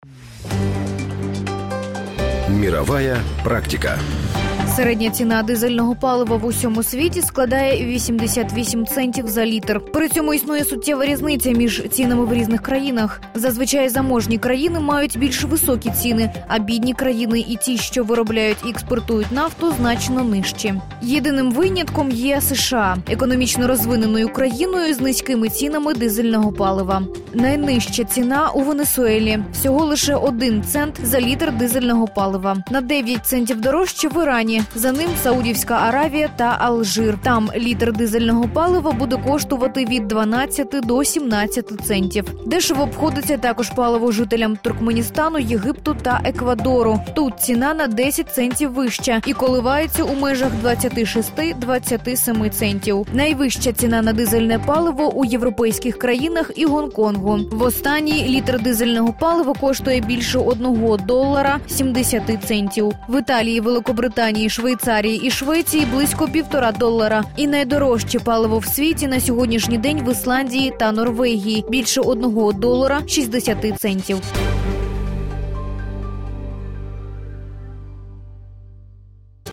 Мировая практика. Середня ціна дизельного палива в усьому світі складає 88 центів за літр. При цьому існує суттєва різниця між цінами в різних країнах. Зазвичай заможні країни мають більш високі ціни, а бідні країни і ті, що виробляють і експортують нафту, значно нижчі. Єдиним винятком є США, економічно розвиненою країною з низькими цінами дизельного палива. Найнижча ціна у Венесуелі – всього лише 1 цент за літр дизельного палива. На 9 центів дорожче в Ірані. За ним Саудівська Аравія та Алжир. Там літр дизельного палива буде коштувати від 12 до 17 центів. Дешево обходиться також паливо жителям Туркменістану, Єгипту та Еквадору. Тут ціна на 10 центів вища і коливається у межах 26-27 центів. Найвища ціна на дизельне паливо у європейських країнах і Гонконгу. В останній літр дизельного палива коштує більше $1 70 центів. В Італії, Великобританії, Швейцарії і Швеції близько $1,5. І найдорожче паливо в світі на сьогоднішній день в Ісландії та Норвегії – більше $1 60 центів.